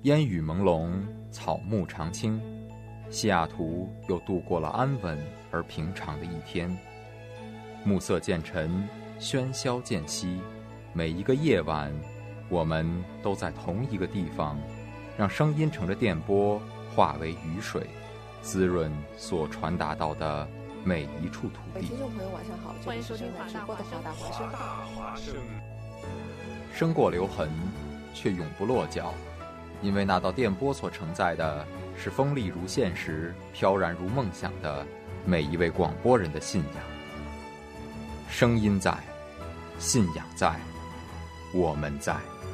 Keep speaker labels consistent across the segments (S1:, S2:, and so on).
S1: 烟雨朦胧，草木常青，西雅图又度过了安稳而平常的一天。暮色渐沉，喧嚣渐息，每一个夜晚，我们都在同一个地方，让声音乘着电波化为雨水，滋润所传达到的每一处土地。
S2: 听众朋友晚上好，
S3: 欢迎收听华大华声。
S1: 生过留痕，却永不落脚，因为那道电波所承载的是锋利如现实、飘然如梦想的每一位广播人的信仰。声音在，信仰在，我们在。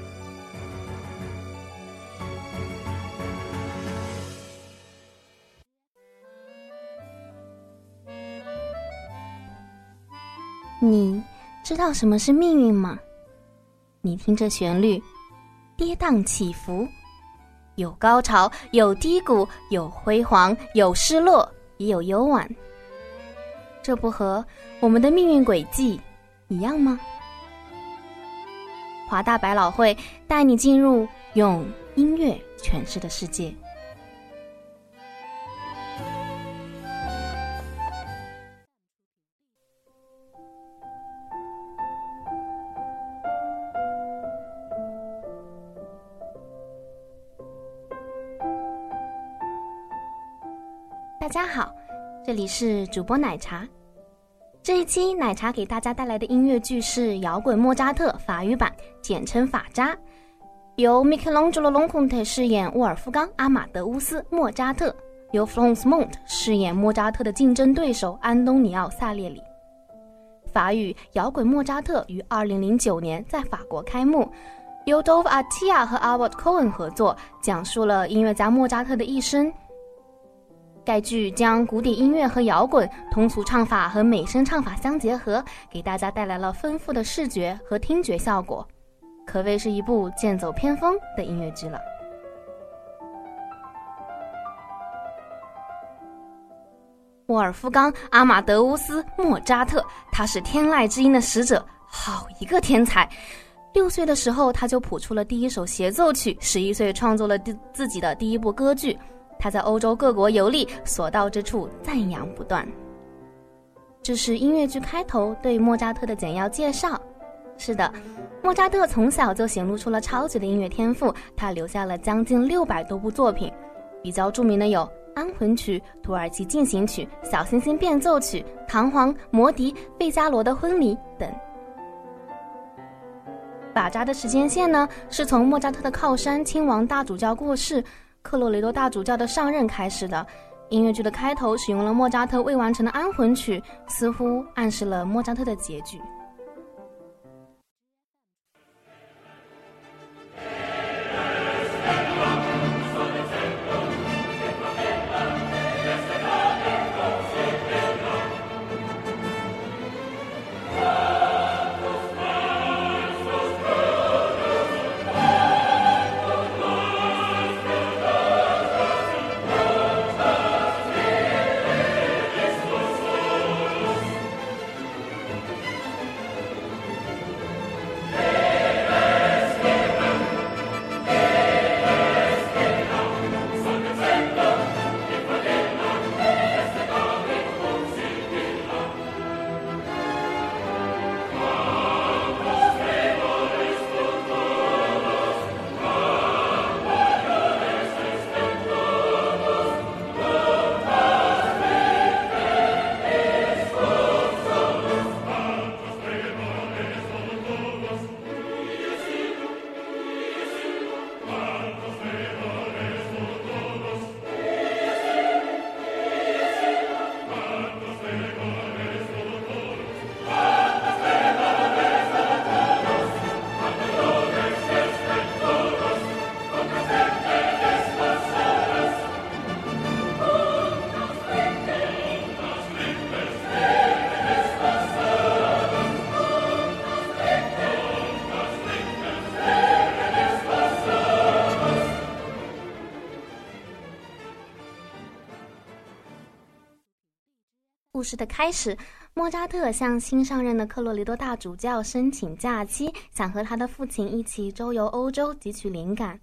S4: 你知道什么是命运吗？你听这旋律，跌宕起伏，有高潮，有低谷，有辉煌，有失落，也有幽婉。这不和我们的命运轨迹一样吗？华大百老汇带你进入用音乐诠释的世界。大家好，这里是主播奶茶。这一期奶茶给大家带来的音乐剧是摇滚莫扎特法语版，简称法扎，由 Michelangelo Lonconte 饰演沃尔夫冈·阿马德乌斯·莫扎特，由 Florence Mont 饰演莫扎特的竞争对手安东尼奥·萨列里。法语摇滚莫扎特于2009年在法国开幕，由 Dove Attia 和 Albert Cohen 合作，讲述了音乐家莫扎特的一生。该剧将古典音乐和摇滚、通俗唱法和美声唱法相结合，给大家带来了丰富的视觉和听觉效果，可谓是一部剑走偏锋的音乐剧了。沃尔夫冈·阿马德乌斯·莫扎特，他是天籁之音的使者，好一个天才！6岁的时候他就谱出了第一首协奏曲，11岁创作了自己的第一部歌剧。他在欧洲各国游历，所到之处赞扬不断。这是音乐剧开头对莫扎特的简要介绍。是的，莫扎特从小就显露出了超级的音乐天赋，他留下了将近600多部作品，比较著名的有《安魂曲》、《土耳其进行曲》、《小星星变奏曲》、《唐璜》、《魔笛》、《费加罗的婚礼》等。法扎的时间线呢，是从莫扎特的靠山亲王大主教过世，克洛雷多大主教的上任开始的。音乐剧的开头使用了莫扎特未完成的安魂曲，似乎暗示了莫扎特的结局。故事的开始，莫扎特向新上任的克洛雷多大主教申请假期，想和他的父亲一起周游欧洲汲取灵感。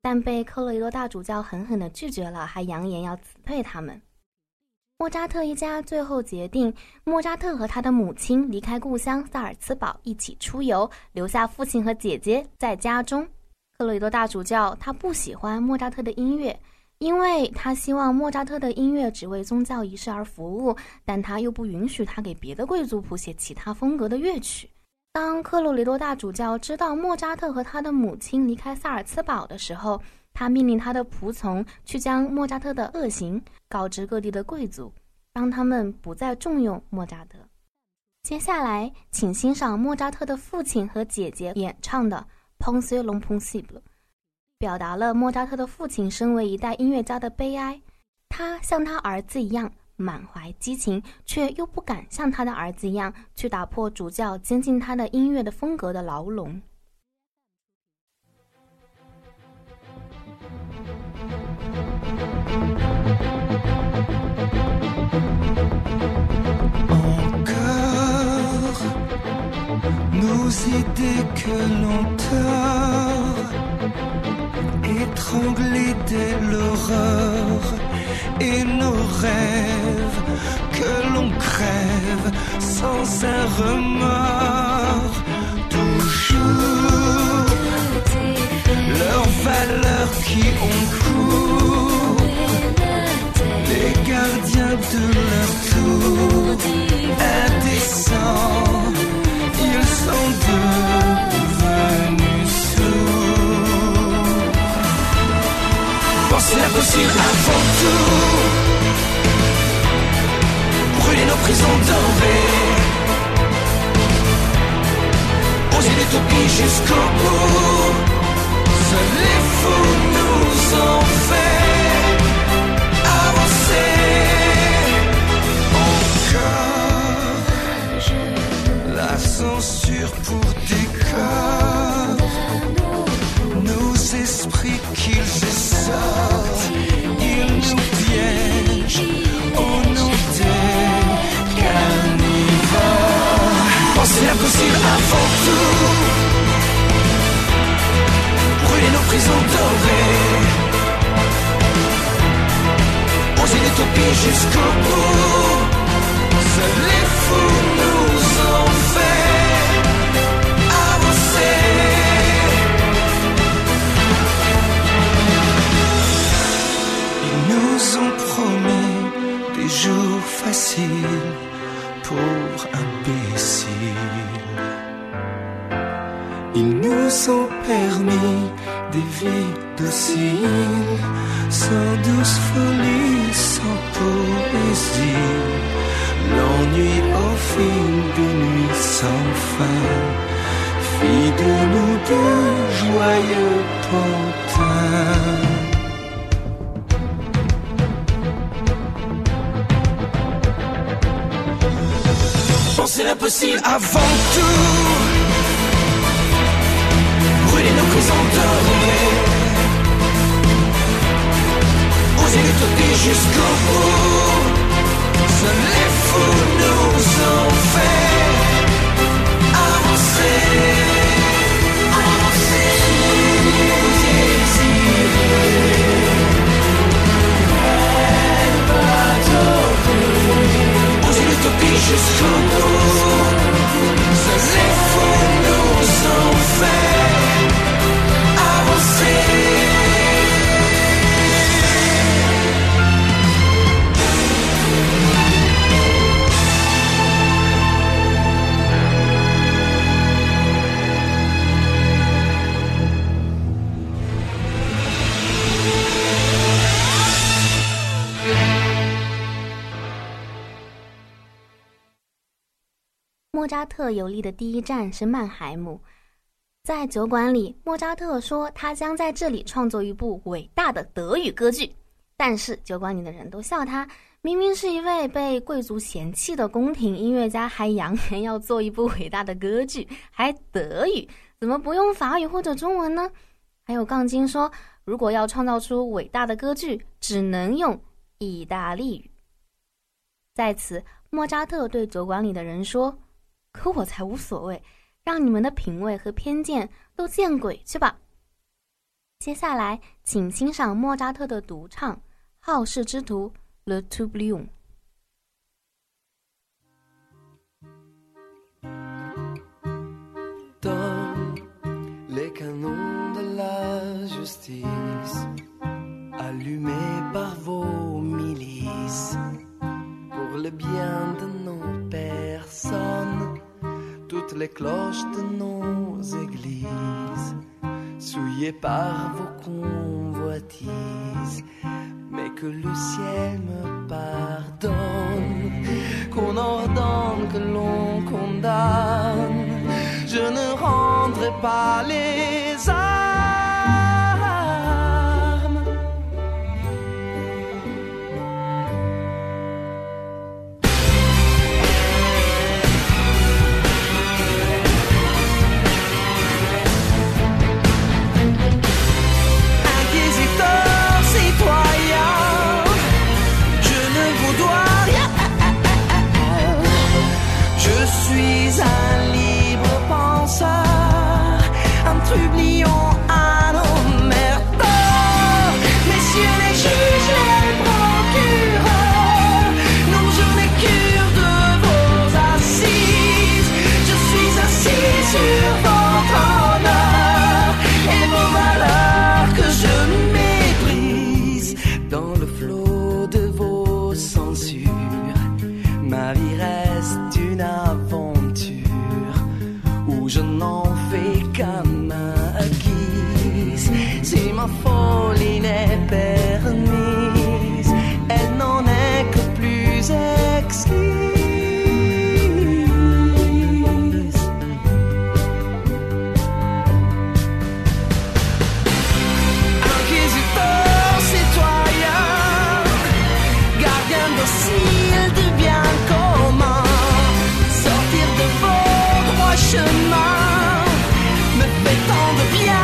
S4: 但被科洛伊多大主教狠狠地拒绝了，还扬言要辞退他们。莫扎特一家最后决定，莫扎特和他的母亲离开故乡萨尔茨堡一起出游，留下父亲和姐姐在家中。科洛伊多大主教他不喜欢莫扎特的音乐，因为他希望莫扎特的音乐只为宗教仪式而服务，但他又不允许他给别的贵族谱写其他风格的乐曲。当科洛雷多大主教知道莫扎特和他的母亲离开萨尔茨堡的时候，他命令他的仆从去将莫扎特的恶行告知各地的贵族，让他们不再重用莫扎特。接下来请欣赏莫扎特的父亲和姐姐演唱的 Pensez l'impossible， 表达了莫扎特的父亲身为一代音乐家的悲哀。他像他儿子一样满怀激情，却又不敢像他的儿子一样去打破主教监禁他的音乐的风格的牢笼。
S2: Encore nos idées que l'on tord, étranglés dès l'aurore, et nos rêves que l'on crève sans un remords. Toujours leurs valeurs qui ont cours, les gardiens de leur tour, indécents, ils sont devenus sourds. Pensez l'impossible avant tout, brûler nos prisons dorées, oser l'utopie jusqu'au bout. Seuls les fous nous ont fait avancer. Encore la censure pour décor, nos esprits qu'ils essortent, ils nous piègent au nom des carnivores. Pensez l'impossible avant tout, brûler nos prisons dorées, oser l'utopie jusqu'au bout. Seuls les fous nous ont fait avancer. Ils nous ont promis des jours faciles pour imbéciles. Ils nous ont permis des vies dociles, sans douce folie, sans poésie. L'ennui au fil des nuits sans fin fit de nous de joyeux pantins. Pensez l'impossible avant tout, brûler nos prisons dorées, oser l'utopie jusqu'au bout. Seuls les fous nous ont fait avancer. Avancer, oser l'utopie jusqu'au bout. Seuls les fous nous ont fait avancer.
S4: 莫扎特游历的第一站是曼海姆，在酒馆里，莫扎特说他将在这里创作一部伟大的德语歌剧，但是酒馆里的人都笑他，明明是一位被贵族嫌弃的宫廷音乐家，还扬言要做一部伟大的歌剧，还德语，怎么不用法语或者中文呢？还有杠精说，如果要创造出伟大的歌剧，只能用意大利语。在此，莫扎特对酒馆里的人说，可我才无所谓，让你们的品味和偏见都见鬼去吧。 接下来，请欣赏莫扎特的独唱《好事之徒》Le Tourbillon。
S2: Dans les canons de la justice, allumés par vos milices, pour le bien de nos personnes, toutes les cloches de nos églises, souillées par vos convoitises, mais que le ciel me pardonne, qu'on ordonne, que l'on condamne, je ne rendrai pas les armes. Inquisiteur, citoyen, je ne vous dois rien. Je suis un libre penseur, un trublion, un emmerdeur. Messieurs les juges, les procureurs, non, je n'ai cure de vos assises. Je suis assis sur votre honneur et vos valeurs que je méprise. Dans le flot de vos censures, ma vie reste une aventure où je n'en fais qu'à ma guise. Si ma folie n'est permise, elle n'en est que plus exquise. Inquisiteur, citoyen, gardien docile du bien commun, sortir de vos droits chemins me fait tant de bien.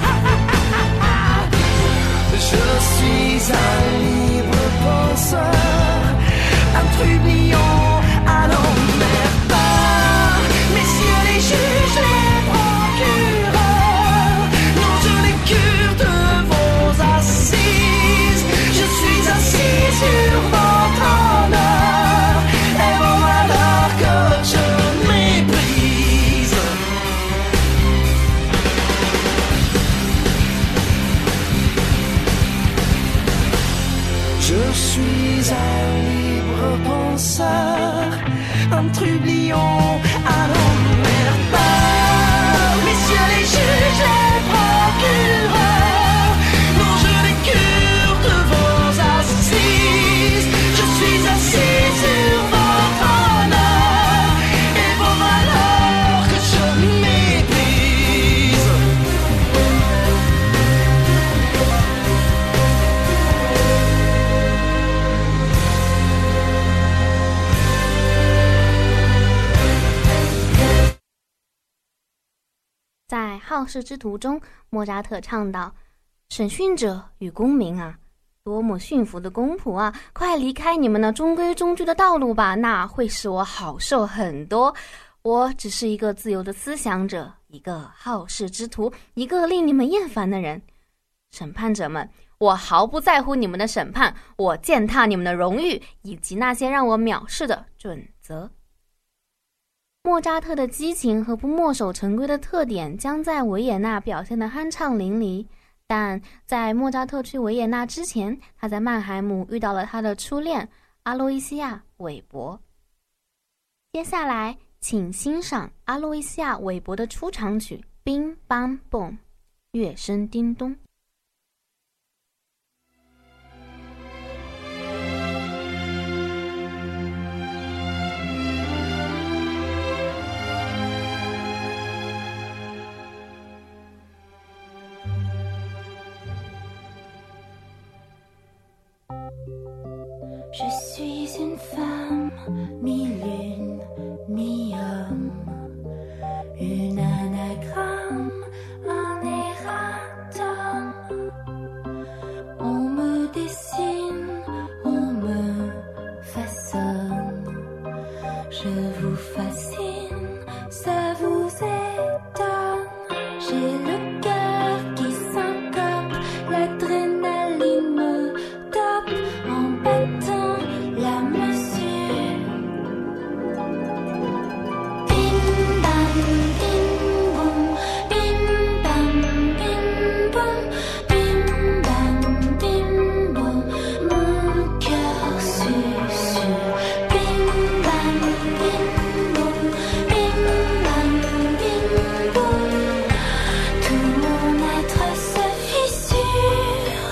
S2: Je suis un libre penseur, un trublion, un emmerdeur. Messieurs les juges, les procureurs, non, je n'ai cure de vos assises. Je suis assis sur votre honneur et vos valeurs que je méprise. Je suis un libre penseur, un trublion, un emmerdeur. Messieurs les juges, les procureurs, non, je n'ai cure de vos assises. Je suis assis sur votre honneur et vos valeurs que je méprise.
S4: 《在好事之徒》中，莫扎特唱道：“审讯者与公民啊，多么驯服的公仆啊！快离开你们那中规中矩的道路吧，那会使我好受很多。我只是一个自由的思想者，一个好事之徒，一个令你们厌烦的人。审判者们，我毫不在乎你们的审判，我践踏你们的荣誉，以及那些让我藐视的准则。”莫扎特的激情和不墨守成规的特点将在维也纳表现得酣畅淋漓，但在莫扎特去维也纳之前，他在曼海姆遇到了他的初恋阿洛伊西亚·韦伯。接下来，请欣赏阿洛伊西亚·韦伯的出场曲《Bing Bang Boom》，乐声叮咚。
S5: Je suis une femme, mi-lune, mi-homme, une anagramme, un erratum. On me dessine, on me façonne, je vous fascine, ça vous étonne. J'ai le cœur qui syncope l'adrénaline me tape en battant la mesure. Bim bam bim boum, bim bam bim boum, bim bam bim boum, mon cœur susurre. Bim bam bim boum, bim bam bim boum, tout mon être se fissure.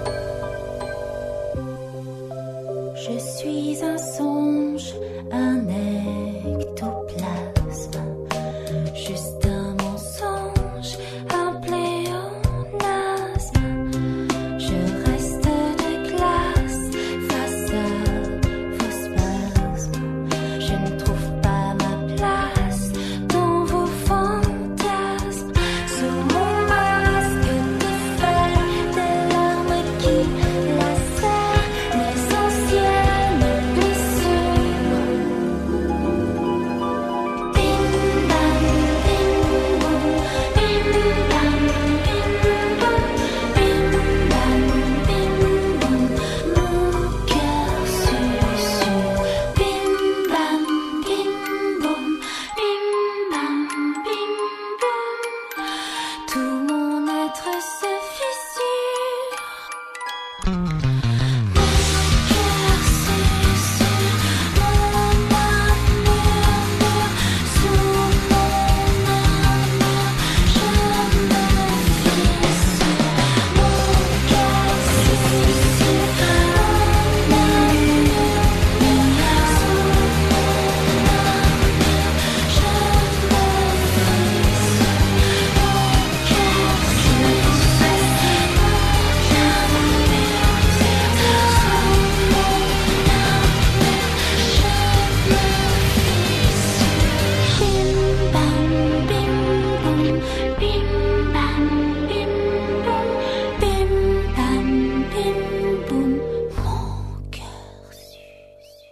S5: Je suis un songe, un ectoplasme, juste un mensonge, un pléonasme. Je reste de glace face à vos spasmes. Je ne trouve pas ma place dans vos fantasmes. Sous mon masque de fer, des larmes qui lacèrent mes anciennes blessures. Bim bam bim boum, bim bam bim boum, bim bam bim boum, mon cœur susurre. Bim bam bim boum, bim bam bim boum, tout mon être se fissure. Mon cœur susurre, mon âme murmure, sous mon armure, je me fissure. Mon cœur susurre, mon âme murmure, sous mon armure, je me fissure. Mon cœur susurre.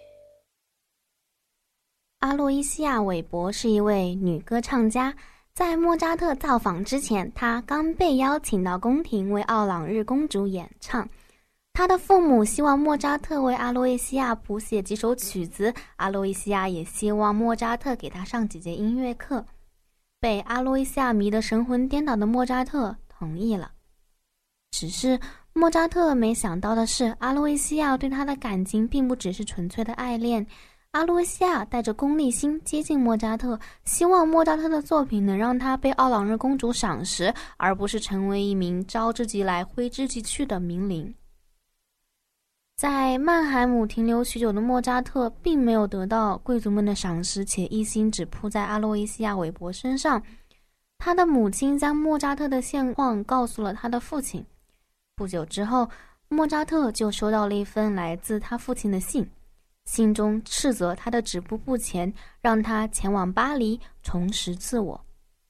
S4: 阿洛伊西亚·韦伯是一位女歌唱家。在莫扎特造访之前，她刚被邀请到宫廷为奥朗日公主演唱。她的父母希望莫扎特为阿洛伊西亚谱写几首曲子，阿洛伊西亚也希望莫扎特给她上几节音乐课。被阿洛伊西亚迷得神魂颠倒的莫扎特同意了。只是莫扎特没想到的是，阿洛伊西亚对他的感情并不只是纯粹的爱恋。阿洛伊西亚带着功利心接近莫扎特，希望莫扎特的作品能让他被奥朗日公主赏识，而不是成为一名招之即来挥之即去的名伶。在曼海姆停留许久的莫扎特并没有得到贵族们的赏识，且一心只扑在阿洛伊西亚·韦伯身上。他的母亲将莫扎特的现况告诉了他的父亲。不久之后，莫扎特就收到了一封来自他父亲的信，信中斥责他的止步不前，让他前往巴黎重拾自我。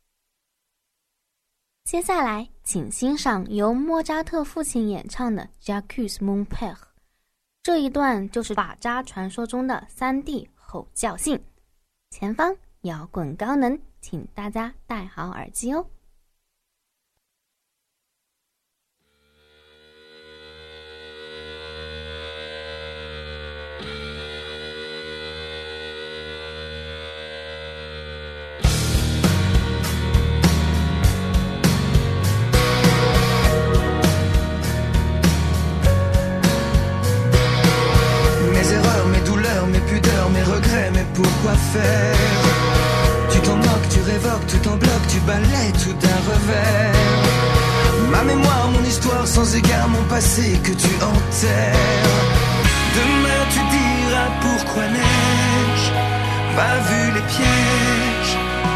S4: 接下来请欣赏由莫扎特父亲演唱的 J'accuse mon père， 这一段就是法扎传说中的3弟吼叫信。前方摇滚高能，请大家戴好耳机哦。
S2: Pourquoi faire? Tu t'en moques, tu révoques, tout en bloque, tu balayes tout d'un revers. Ma mémoire, mon histoire, sans égard, mon passé que tu enterres. Demain tu diras pourquoi n'ai-je pas vu les pièges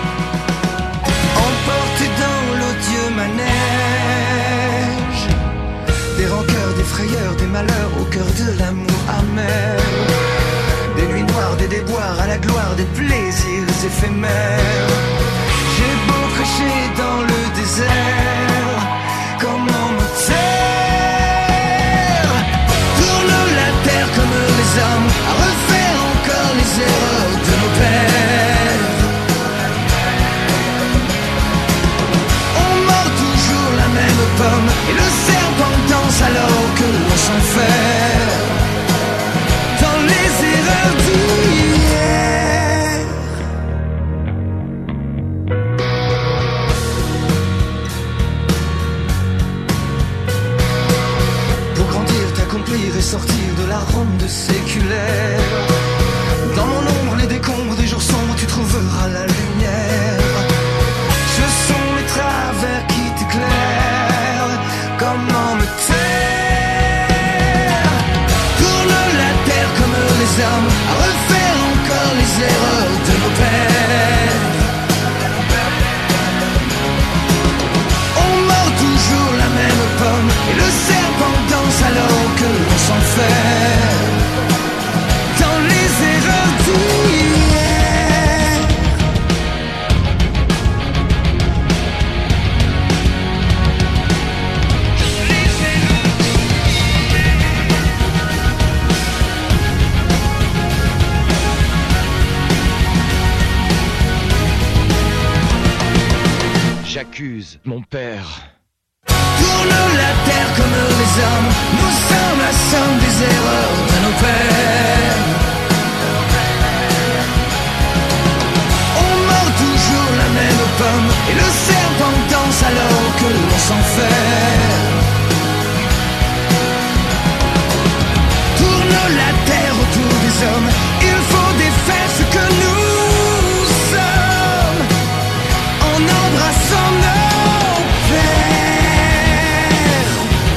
S2: emportés dans l'odieux manège. Des rancœurs, des frayeurs, des malheurs au cœur de l'amour amer. Des nuits noires, des déboires à la gloire des plaisirs éphémères. J'ai beau prêcher dans le désert, comment me taire? Tourne la terre comme les hommes, à refaire encore les erreurs de nos pères. On mord toujours la même pomme, et le serpent erreurs d'hier. Pour grandir, t'accomplir et sortir de la ronde séculaire. Dans mon ombre, les décombres des jours sombres, tu trouveras la lumière. Ce sont mes travers qui t'éclairent. Comment me taire? Tourne la terre comme les hommes, à refaire encore les erreurs de nos pères. On mord toujours la même pomme, et le serpent danse alors que l'on s'enferme dans les erreurs d'hier.
S6: J'accuse mon père.
S2: Tourne la terre comme les hommes, nous sommes la somme des erreurs de nos pères. On mord toujours la même pomme, et le serpent danse alors que l'on s'enferme. Tourne la terre autour des hommes, il faut défaire ce que nous sommes, en embrassant nos pères.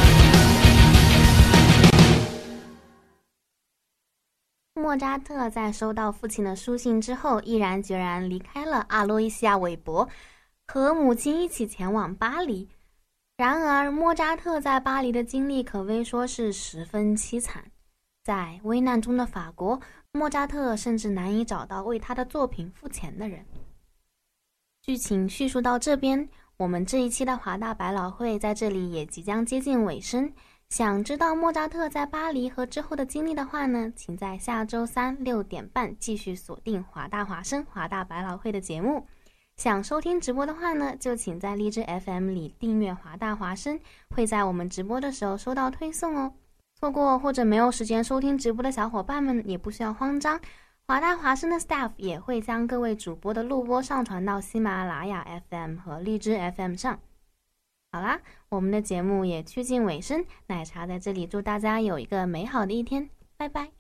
S4: 莫扎特在收到父亲的书信之后，毅然决然离开了阿洛伊西亚·韦伯，和母亲一起前往巴黎。然而，莫扎特在巴黎的经历可谓说是十分凄惨。在危难中的法国，莫扎特甚至难以找到为他的作品付钱的人。剧情叙述到这边，我们这一期的华大百老汇在这里也即将接近尾声。想知道莫扎特在巴黎和之后的经历的话呢，请在下周三6点半继续锁定华大华声华大百老汇的节目。想收听直播的话呢，就请在荔枝 FM 里订阅华大华声，会在我们直播的时候收到推送哦。错过或者没有时间收听直播的小伙伴们也不需要慌张，华大华声的 staff 也会将各位主播的录播上传到喜马拉雅 FM 和荔枝 FM 上。好啦，我们的节目也趋近尾声，奶茶在这里祝大家有一个美好的一天，拜拜。